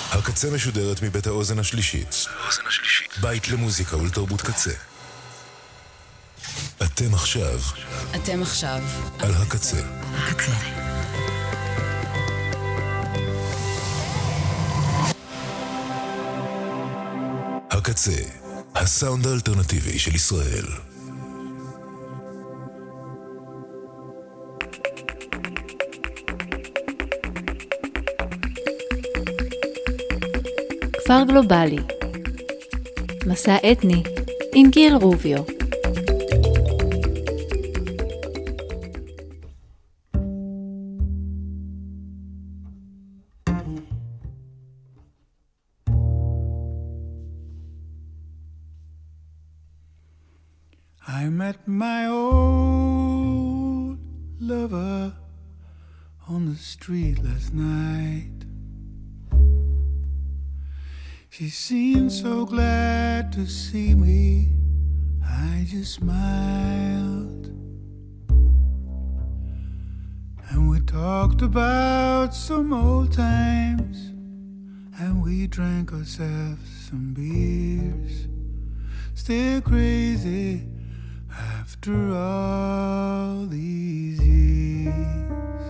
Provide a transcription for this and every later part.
הקצה משודרת מבית האוזן השלישית. בית למוזיקה ולתרבות קצה. אתם עכשיו על הקצה. הקצה, הסאונד האלטרנטיבי של ישראל. כפר גלובלי, מסע אתני עם גיל רוביו. I met my old lover on the street last night. She seemed so glad to see me. I just smiled. And we talked about some old times. And we drank ourselves some beers. Still crazy after all these years.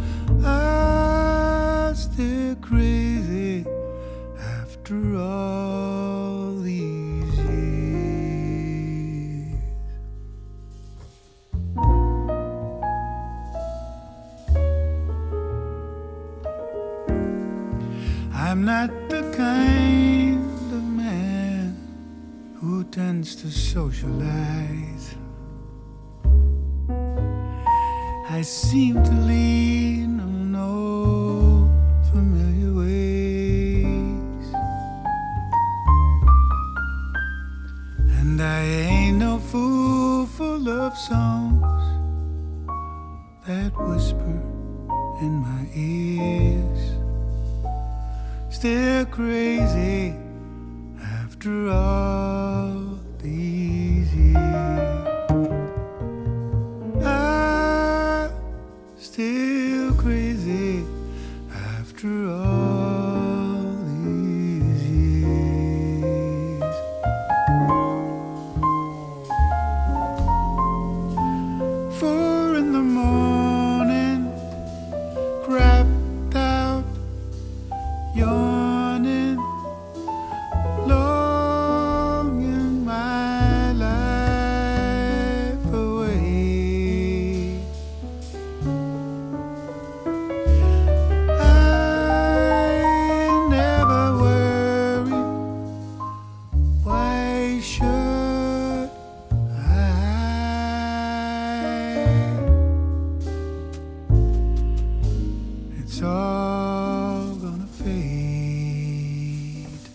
I'm still crazy after all these years. I'm not the kind of man who tends to socialize. I seem to lean on old familiar ways, and I ain't no fool for love songs that whisper in my ears. Still crazy after all these years. I'm still crazy after all these years. 4 in the morning, crapped out, yawning, longing my life away. I never worry, why should I? It's all gonna fade.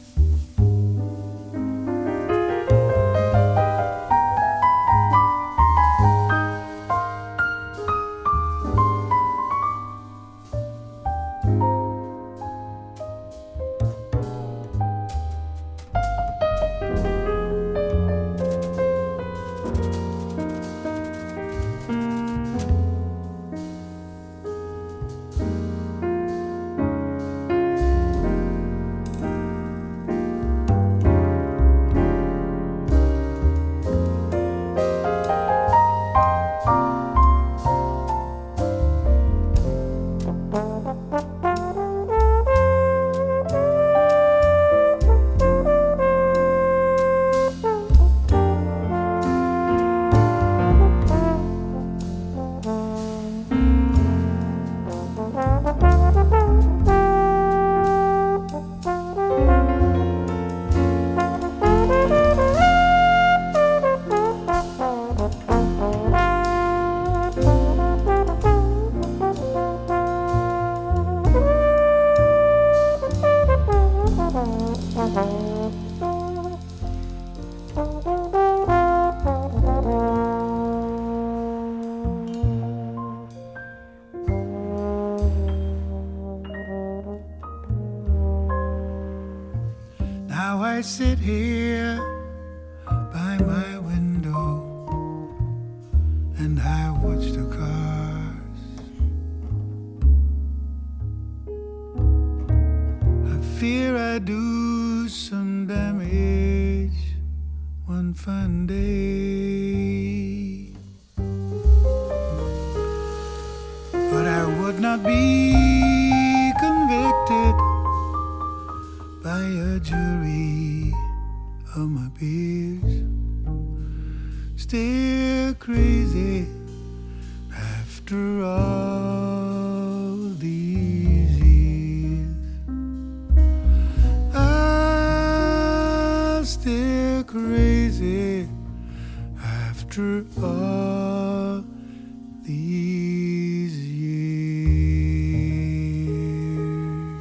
Now I sit here by my window and I watch the cars. I fear I do some damage one fine day. But I would not be convicted by a jury of my peers. Still crazy after all these years. I'm still crazy after all these years.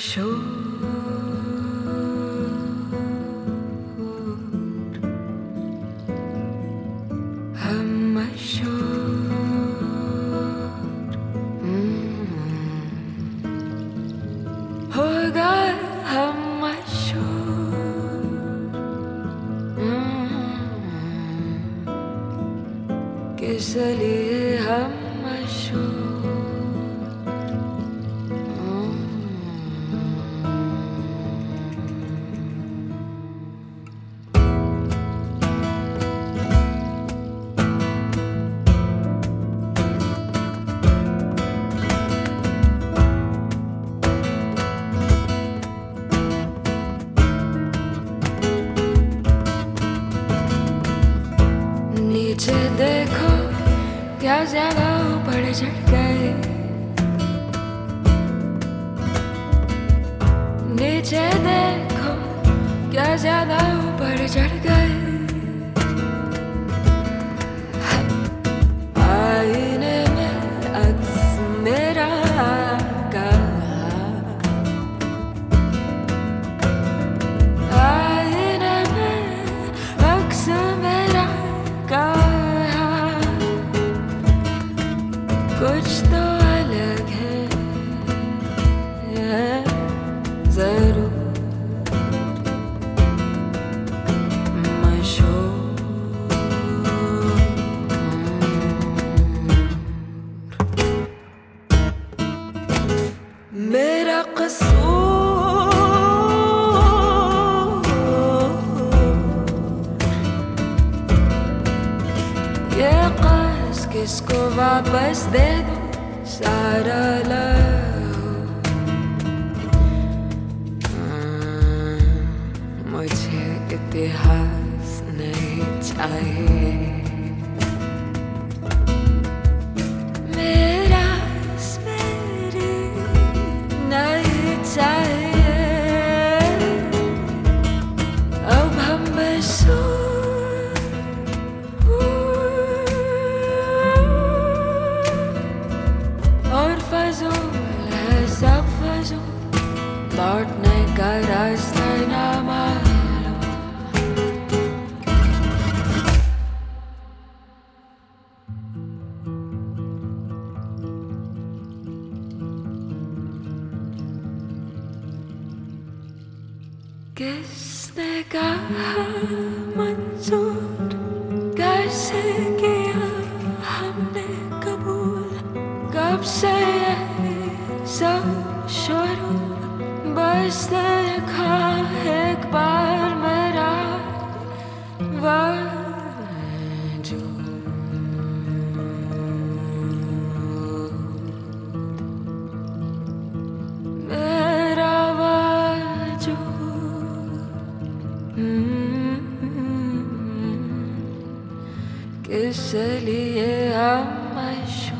इसलिए हम मशहूर नीचे देखो क्या ज्यादा ऊपर चढ़ गए नीचे देखो क्या ज्यादा ऊपर चढ़ गए आईने में अक्स मेरा का आईने में अक्स मेरा का कुछ तो अलग है जरूर मशहूर मेरा कसूर ये कस किसको वापस दे दो सारा लव मुझे इतिहास नहीं चाहिए मेरा स्मृति नहीं चाहिए अब हम बस और फजूल है सब फजूल लौटने का रास्ता ना मालूम किसने कहा मंजूर कैसे किया हमने कबूल कब से सब शुरू बस देखा एक बार मेरा वजूद मेरा वजूद किस लिए हम मशहूर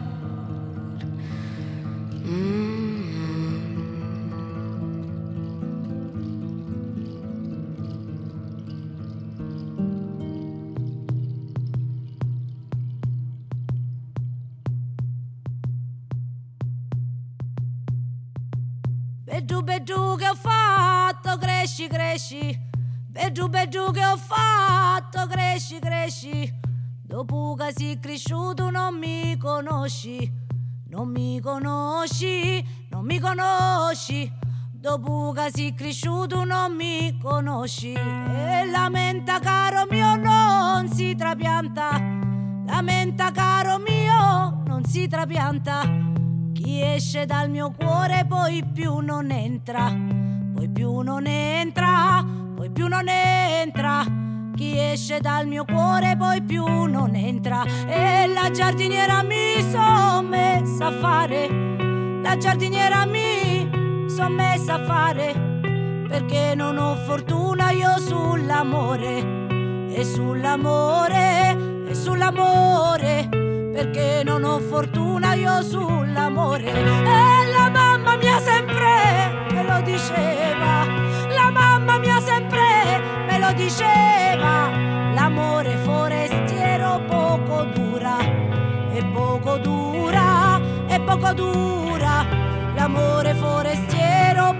Bedu bedu che ho fatto cresci cresci Bedu bedu che ho fatto cresci cresci Dopo che sei cresciuto non mi conosci Non mi conosci Non mi conosci Dopo che sei cresciuto non mi conosci E lamenta caro mio non si trapianta Lamenta caro mio non si trapianta Chi esce dal mio cuore poi più non entra Poi più non entra Poi più non entra Chi esce dal mio cuore poi più non entra E la giardiniera mi son messa a fare La giardiniera mi son messa a fare Perché non ho fortuna io sull'amore E sull'amore E sull'amore Perché non ho fortuna io sull'amore E la mamma mia sempre me lo diceva La mamma mia sempre me lo diceva L'amore forestiero poco dura E poco dura E poco dura L'amore forestiero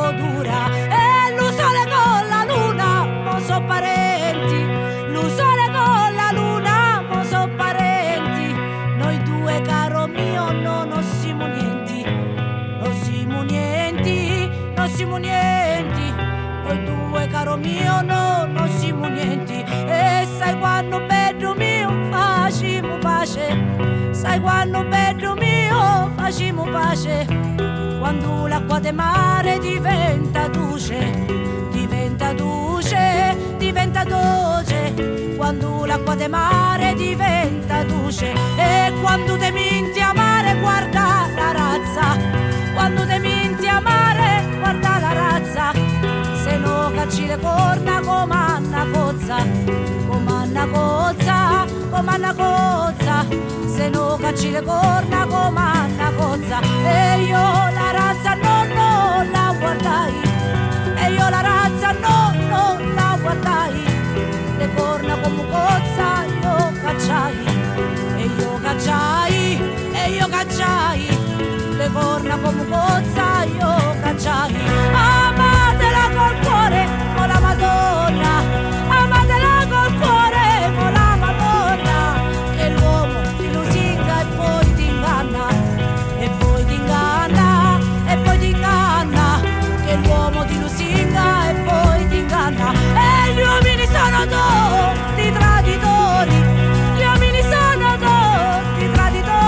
troppo dura. E lo sole con la luna, mo so parenti. Lo sole con la luna, mo so parenti. Noi due, caro mio, no, non siamo nienti. Non siamo nienti, non siamo nienti. Noi due, caro mio, no, non siamo nienti. E sai quando bello mio facciamo pace. Sai quando bello mio facciamo pace. Quando l'acqua de mare diventa duce, diventa duce, diventa dolce. Quando l'acqua de mare diventa duce. E quando te minti a mare guarda la razza. Quando te minti a mare guarda la razza. Se no cacci le corna comanna cozza, comanna cozza, comanna cozza. Se no cacci le corna comanna cozza. E io la razza non la guardai. E io la razza non la guardai. Le corna come cozza io cacciai. E io cacciai, e io cacciai. Le corna come cozza io cacciai. Amatela col cuore con la Madonna. Amatela col cuore con la Madonna. Che l'uomo ti lusinga e poi ti inganna. E poi ti inganna, e poi ti inganna. Che l'uomo ti lusinga e poi ti inganna. E gli uomini sono tutti traditori. Gli uomini sono tutti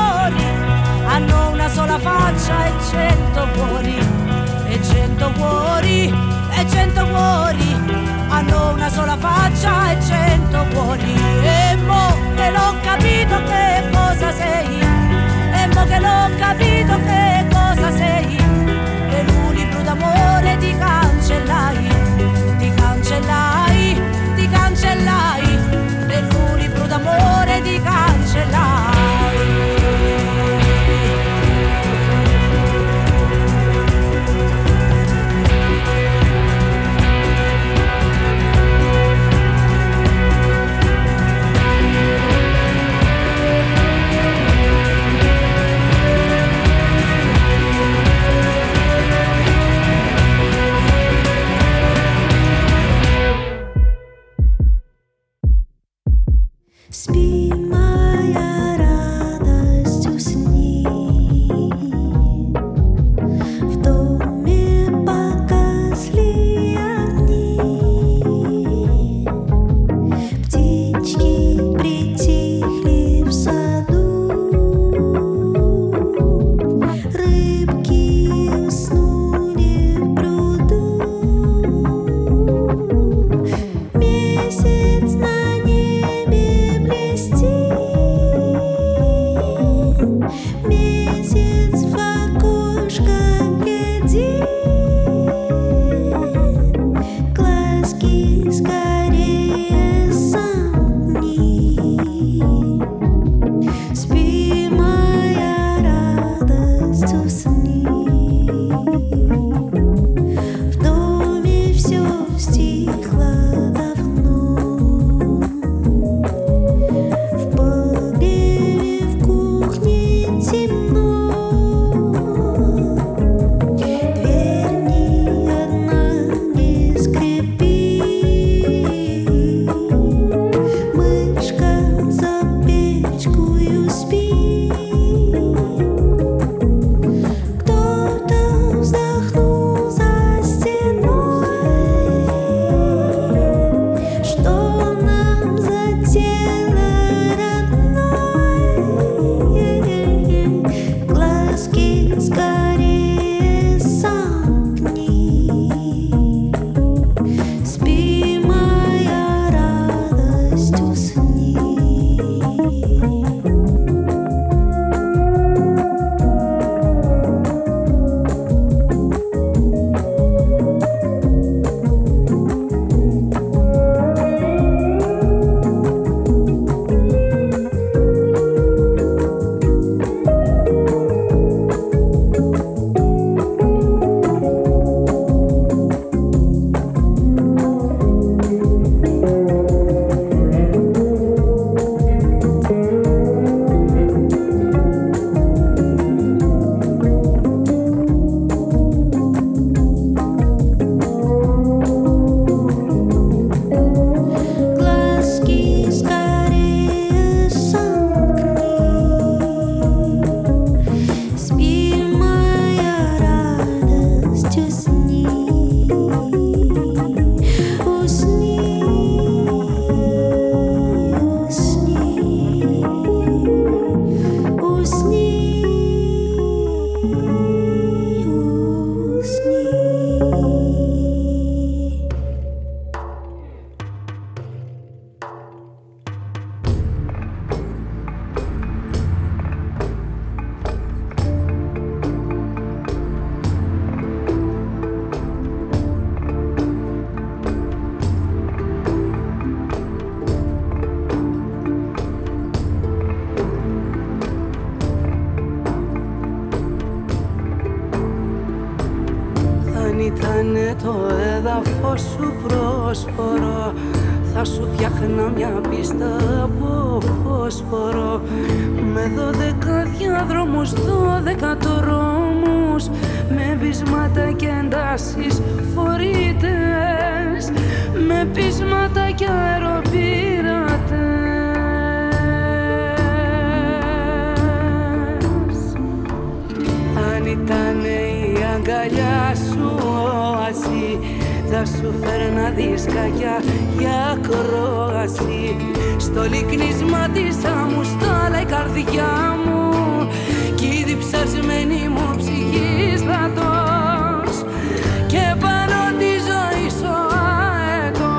traditori. Hanno una sola faccia e 100 cuori, e 100 cuori. φως σου πρόσφορο, θα σου φτιάχνα μια πίστα από φόσφορο, με 12 διάδρομους, 12 τρόμους, με βυσμάτα και εντάσεις φορείτες, με πείσματα και αεροπειρατές. Αν ήτανε η αγκαλιά σου όαση, θα σου φέρνα δισκάκια για ακρόαση. Στο λυκνίσμα της άμμου στάλα η καρδιά μου κι η διψασμένη μου ψυχή στρατός και πάνω τη ζωή σου αετός.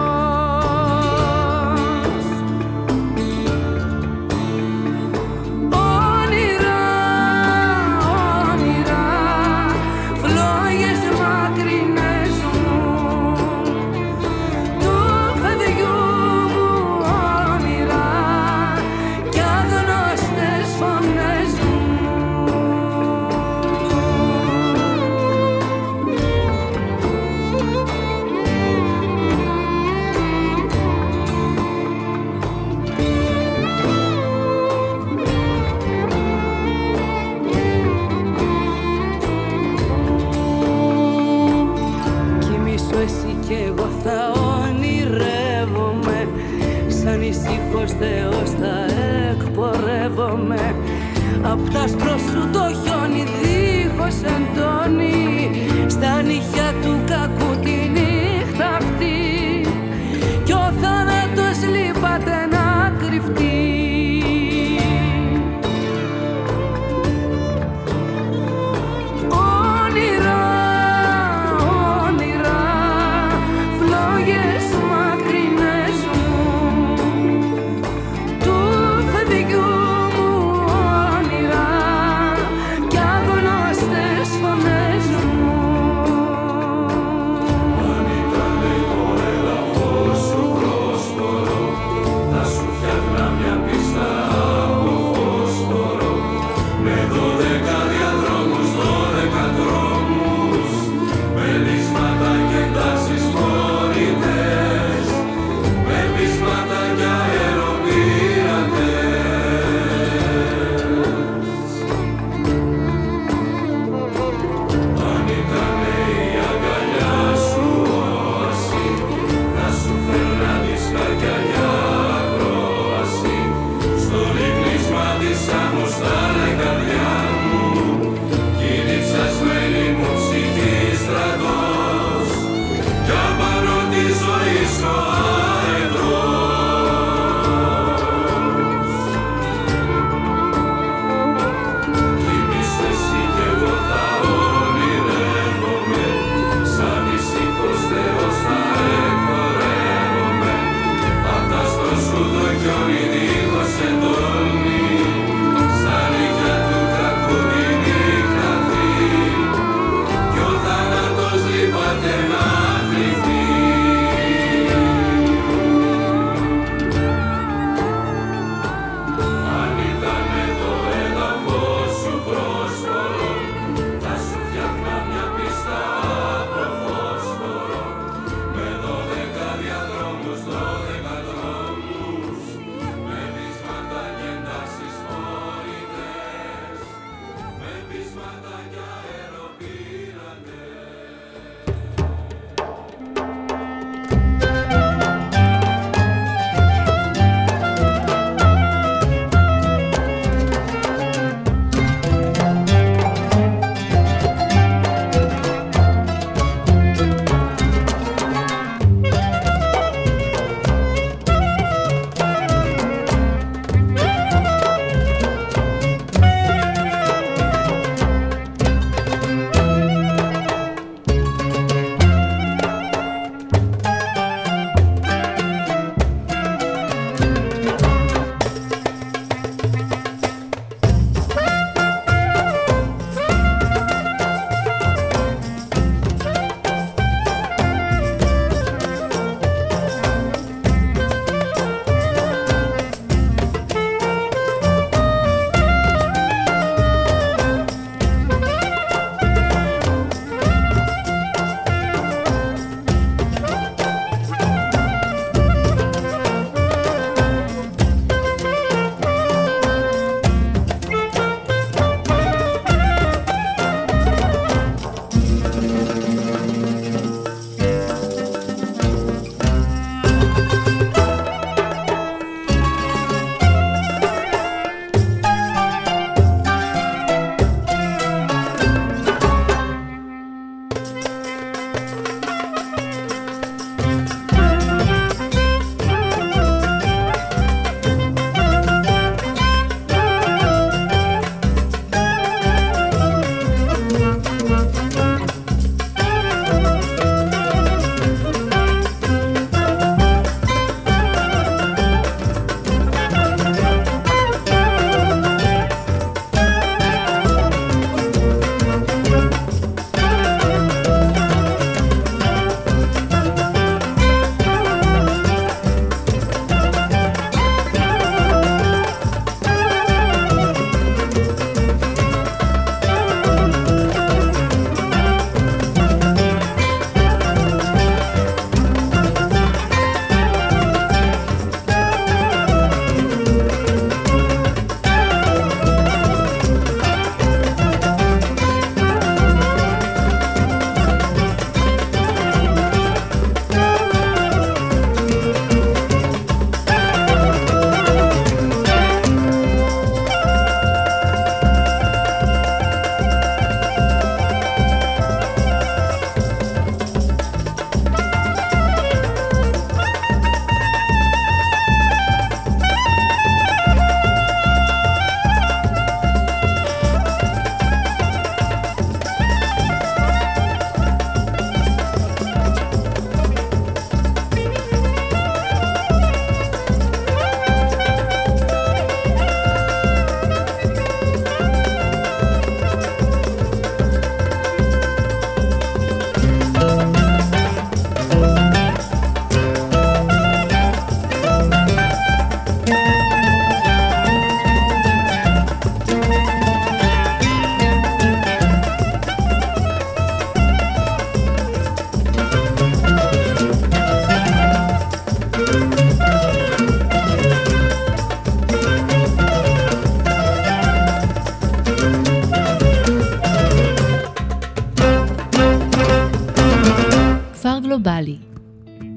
Όνειρα, όνειρα, φλόγες μακρινές μου του παιδιού μου, όνειρα κι αγνώστες φωνές μου. Κοιμήσου εσύ κι εγώ θα ονειρεύομαι, σαν ησύχος Θεός θα εκπορεύομαι. Απ' τ' άσπρο σου το χιόνι δίχως εντόνι, στα νύχια του κακού τη νύχτα αυτή κι ο θάνατος λείπατε να κρυφτεί. Όνειρα, όνειρα, φλόγες μακρινές μου του παιδιού μου, όνειρα κι αγνώστες φωνές μου.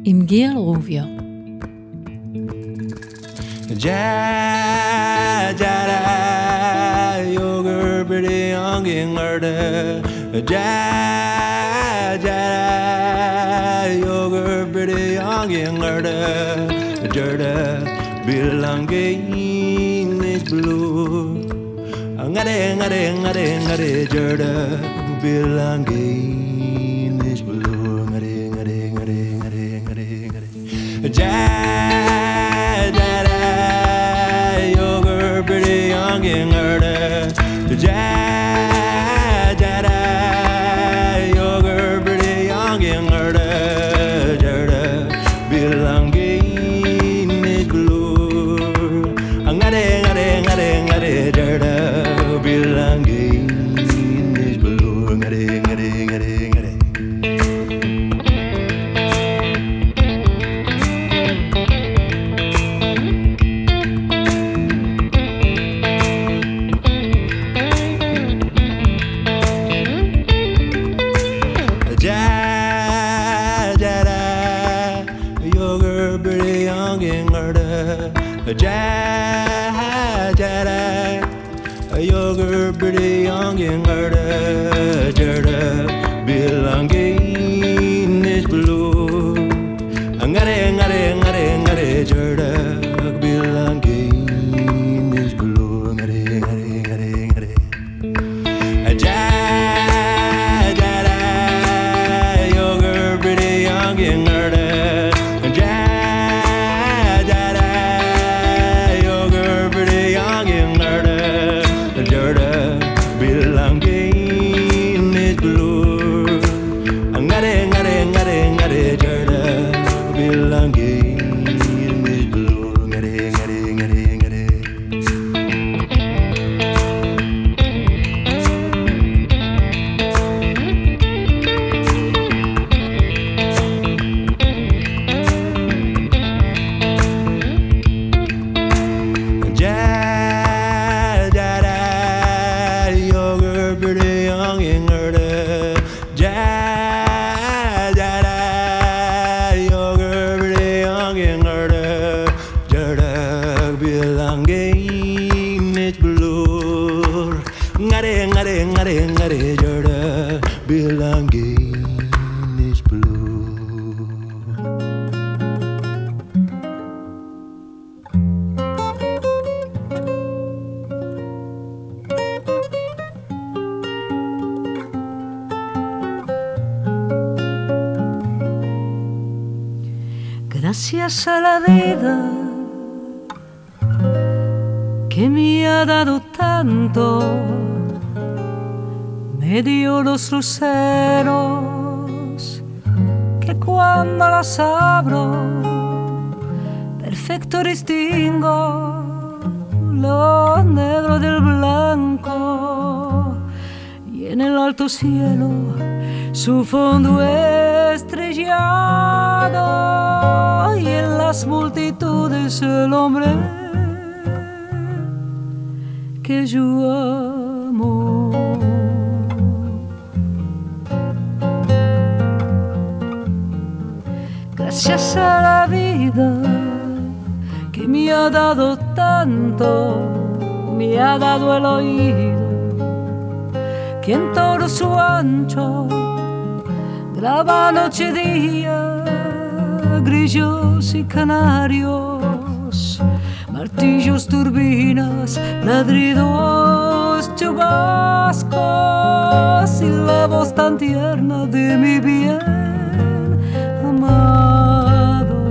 עם גיל רוביו. You're pretty young and you're pretty young and bilang is blue. Ngade bilang is blue. Ngade you're pretty young and you're pretty young and bilang is blue. Ngade bilang is blue. Ngade you're pretty young and bilang is blue. Ngade bilang is blue. Ngade you're pretty young and Gracias a la vida que me ha dado tanto, me dio los luceros que cuando las abro perfecto distingo lo negro del blanco, y en el alto cielo su fondo estrellado, y en las multitudes el hombre que yo amo. Gracias a la vida que me ha dado tanto, me ha dado el oído que en todo su ancho graba noche y día, grillos y canarios, martillos, turbinas, ladridos, chubascos y la voz tan tierna de mi bien amado.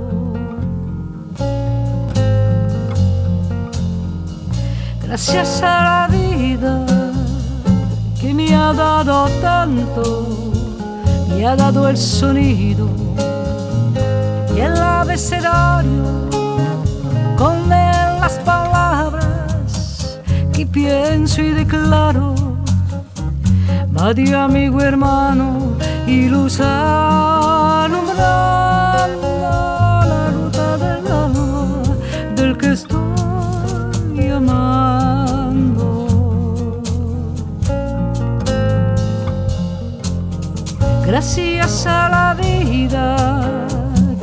Gracias a la vida que me ha dado tanto, me ha dado el sonido y el abecedario, con él las palabras que pienso y declaro. Madre, amigo, hermano y luz alumbrando la ruta del alma del que estoy amando. Gracias a la vida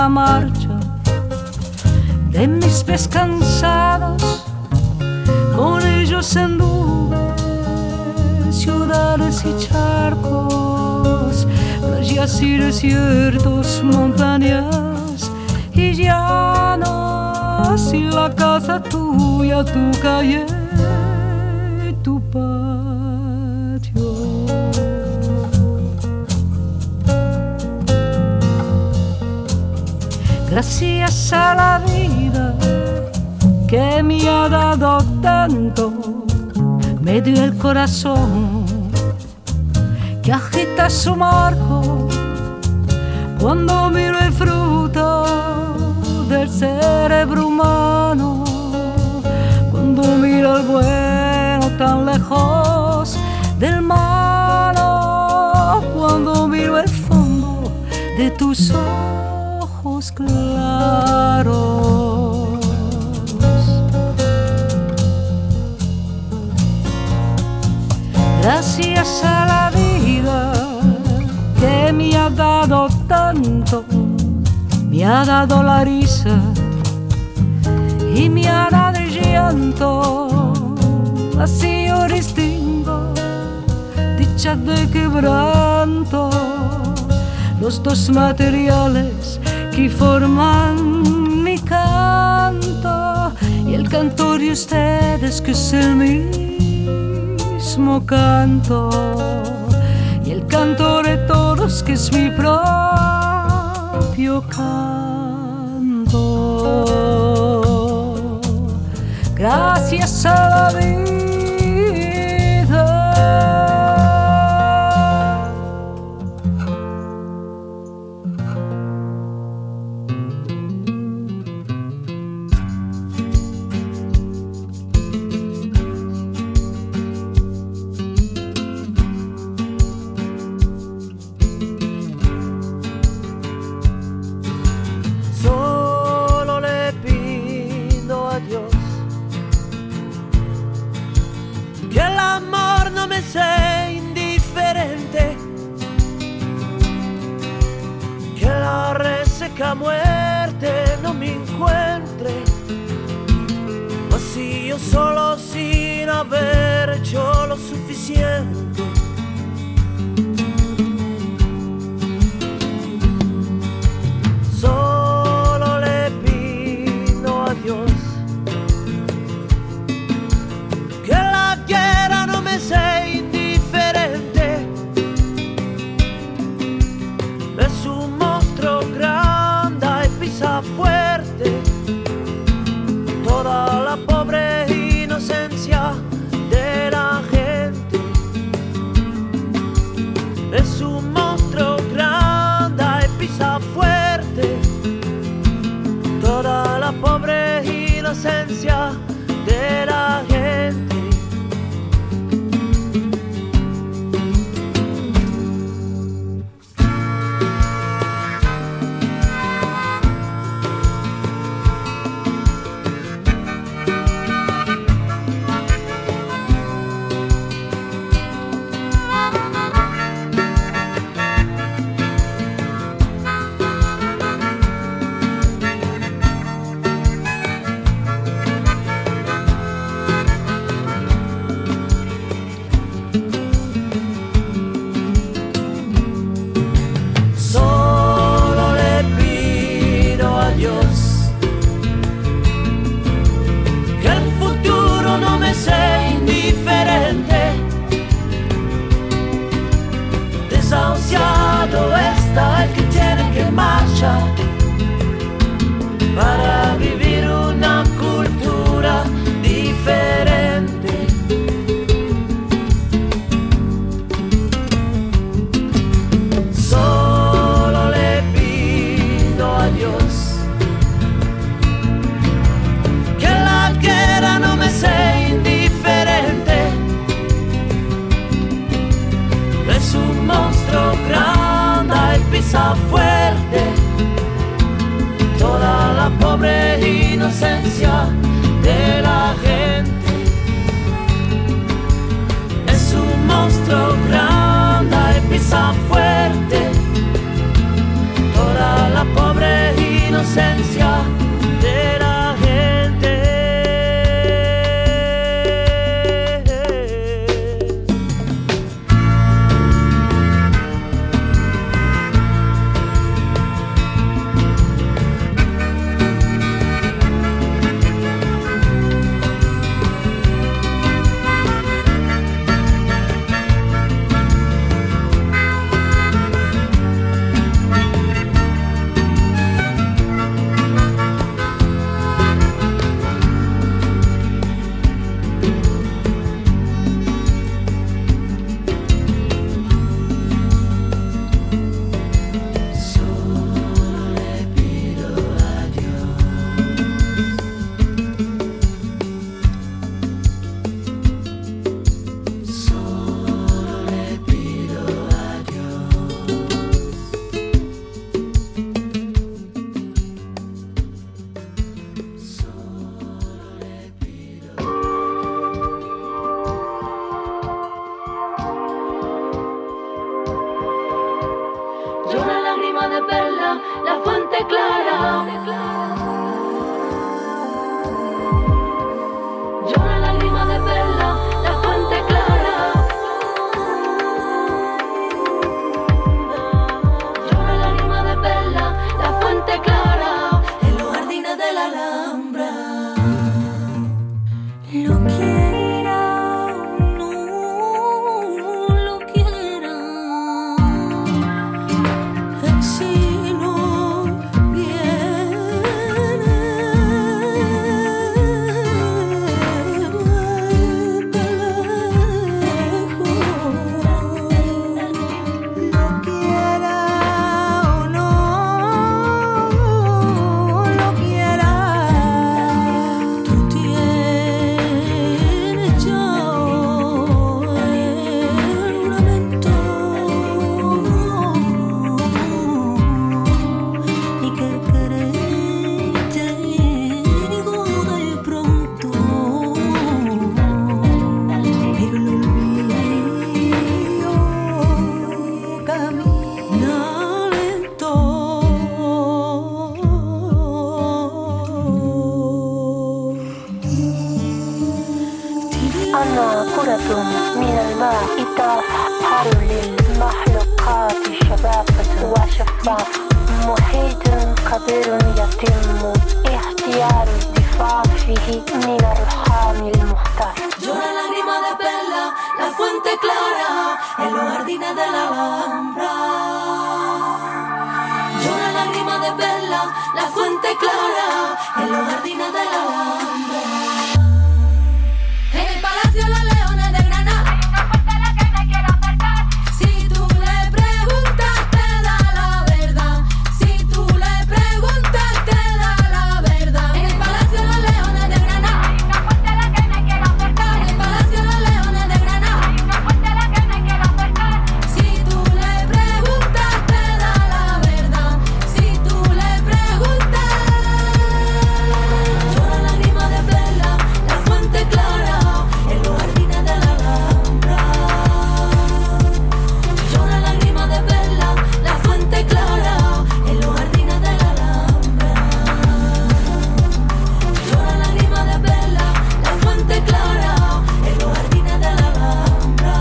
la marcha de mis pies cansados. Con ellos anduve ciudades y charcos, playas y desiertos, montañas y llanos, y la casa tuya, tu calle, tu patio. Gracias a la vida que me ha dado tanto, me dio el corazón que agita su marco cuando miro el fruto del cerebro humano, cuando miro el bueno tan lejos del malo, cuando miro el fondo de tus ojos claros. Gracias a la vida que me ha dado tanto, me ha dado la risa y me ha dado el llanto. Así yo distingo dicha de quebranto, los dos materiales que forman mi canto, y el canto de ustedes que es el mismo canto, y el canto de todos que es mi propio canto. Gracias a la vida. Sea indiferente, que la reseca muerte no me encuentre, vacío solo sin haber hecho lo suficiente. Solo le pido a Dios que la quiera no me sea indiferente. Es un monstruo grande y pisa fuerte toda la pobre inocencia de la gente. Es un monstruo grande y pisa fuerte toda la pobre inocencia de la gente. Desahuciado está el que tiene que marchar para vivir una cultura diferente. Solo le pido a Dios que la guerra no me sea indiferente. Es un monstruo grande y pisa fuerte toda la pobre inocencia de la gente. Es un monstruo grande y pisa fuerte toda la pobre inocencia la fuente clara. Llora lágrima de perla, la fuente clara. Llora lágrima de perla, la fuente clara. En los jardines de la Alhambra. Lo quiera o no lo quiera, si no viene, vuelve lejos. Lo quiera o no lo quiera, tú tienes ya el lamento y que quererte digo de pronto, pero lo olvido, camina lento. أنا كرة من الماء تظهر للمخلوقات شبابة وشفاف، محيط كبير يتم اختيار الدفاع فيه من الرحام المختار. Llora lágrima de perla, la fuente clara, en los jardines de la Alhambra. Llora lágrima de perla, la fuente clara, en los jardines de la Alhambra. En el Palacio de los Leones de Granada hay una puerta a la que me quiero acercar. Si tú le preguntas te da la verdad. Si tú le preguntas te da la verdad. En el Palacio de los Leones de Granada hay una puerta a la que me quiero acercar. En el Palacio de los Leones de Granada hay una puerta a la que me quiero acercar. Si tú le preguntas te da la verdad. Si tú le preguntas. Llora lágrima de perla, la fuente clara, en los jardines de la Alhambra. Llora lágrima de perla, la fuente clara, en los jardines de la Alhambra. Llora lágrima de perla, la fuente clara, en los jardines de la Alhambra.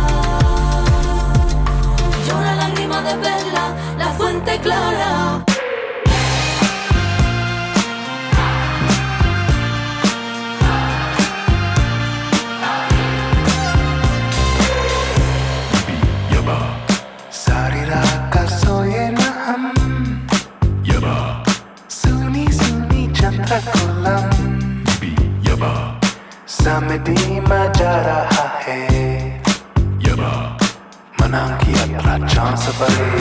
Llora lágrima de perla, la fuente clara. Sarira kasoye na ham, suni suni chandra kolam, samedi maja raha hai, manang ki yatra chance pare.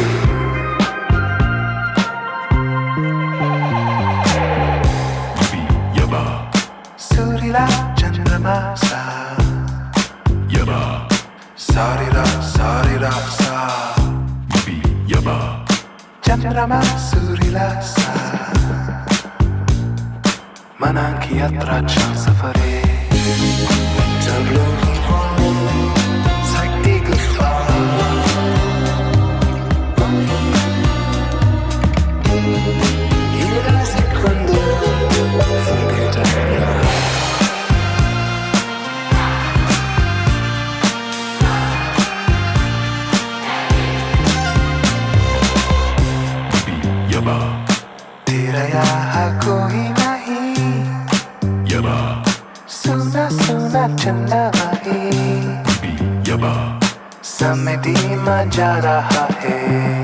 Surila chandrama sa, sarira sarira sa, chandrama surila sa, manang ki yatra chance pare. Tableau vivant, zeigt die Gefahr. Jede Sekunde vergeht ein Jahr. तेरा यहाँ कोई नहीं, सुना सुना चंदा भाई, समझी मजा रहा है,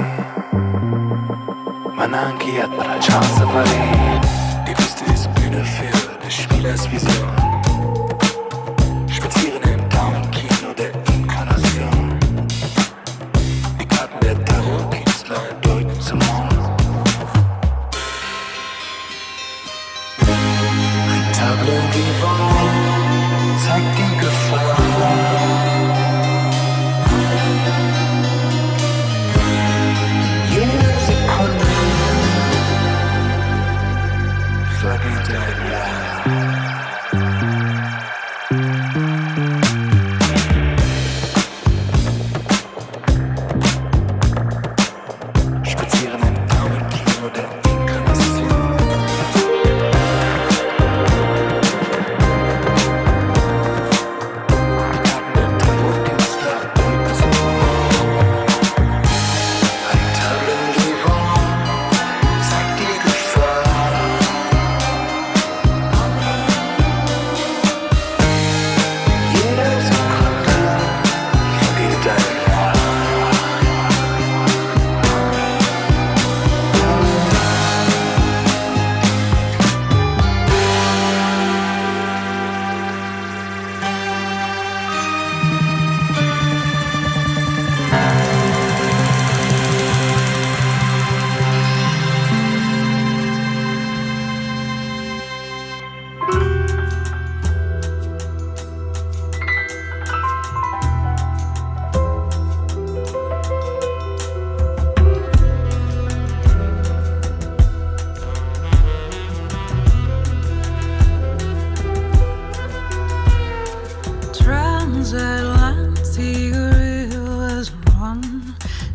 manang की यात्रा chance pare. Die Piste ist Bühne für des Spielers Vision. Spazieren im Daumenkino der Inkarnation. Die Karten der Tarot-Künstler deuten zum Mond. Ein Tableau vivant zeigt die Gefahr. Jede Sekunde vergeht ein Jahr.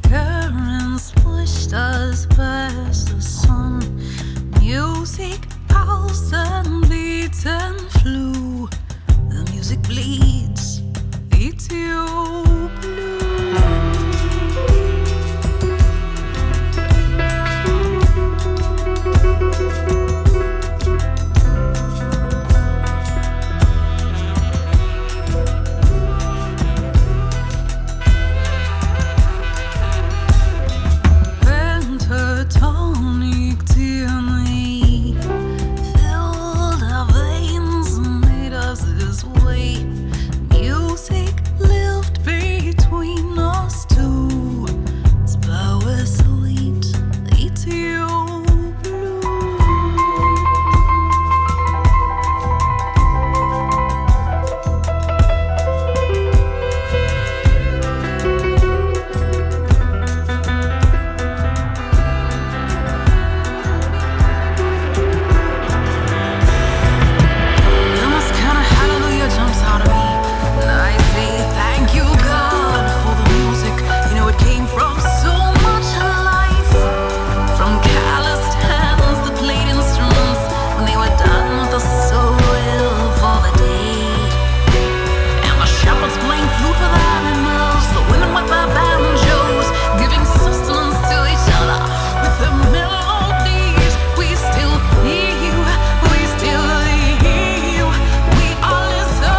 currents pushed us past the sun. Music pulsed and beats and flew. The music bleeds Ethiopian blue. Pentatonic DNA filled our veins and made us this way. Music lived between us two. Its power sweet, Ethiopian blue. Almost kinda hallelujah jumps out of me, and I say thank you God for the music. You know it came from so much life, from calloused hands that played instruments when they were done with the soil for the day, and the shepherds playing flute for the animals, the women with their banjos giving sustenance to each other with their melodies. We still hear you, we still hear you, we all listen.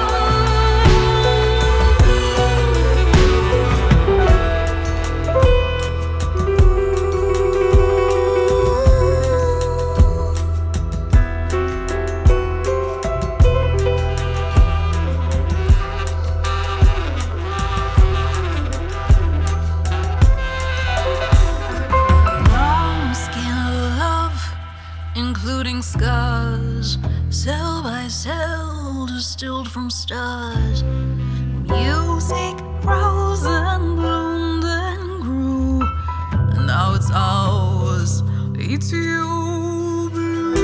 Brown skin love, including scars, cell by cell, distilled from stars. Music rose and bloomed and grew, and now it's ours, Ethiopian blue.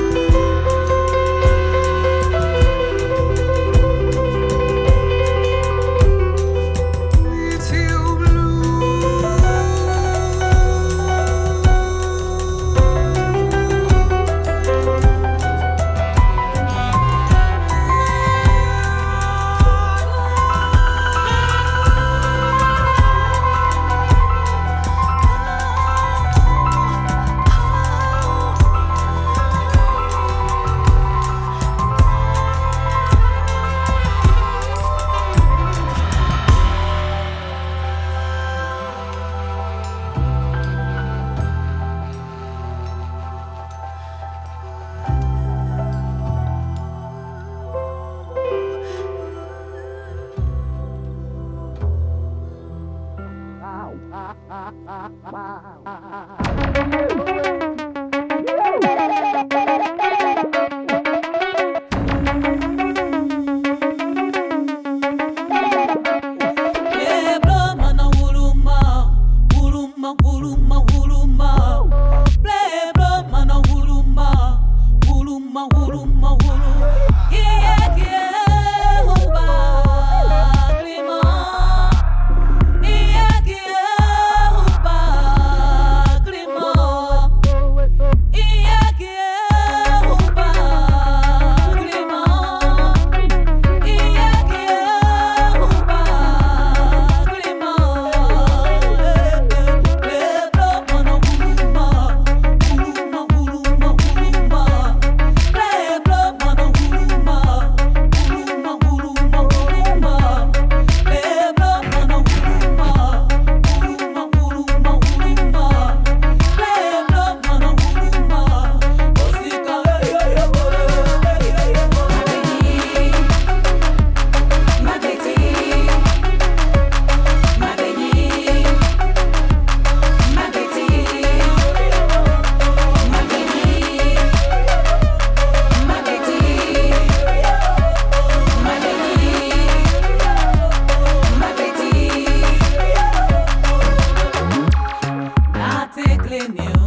Ethiopian Clean you.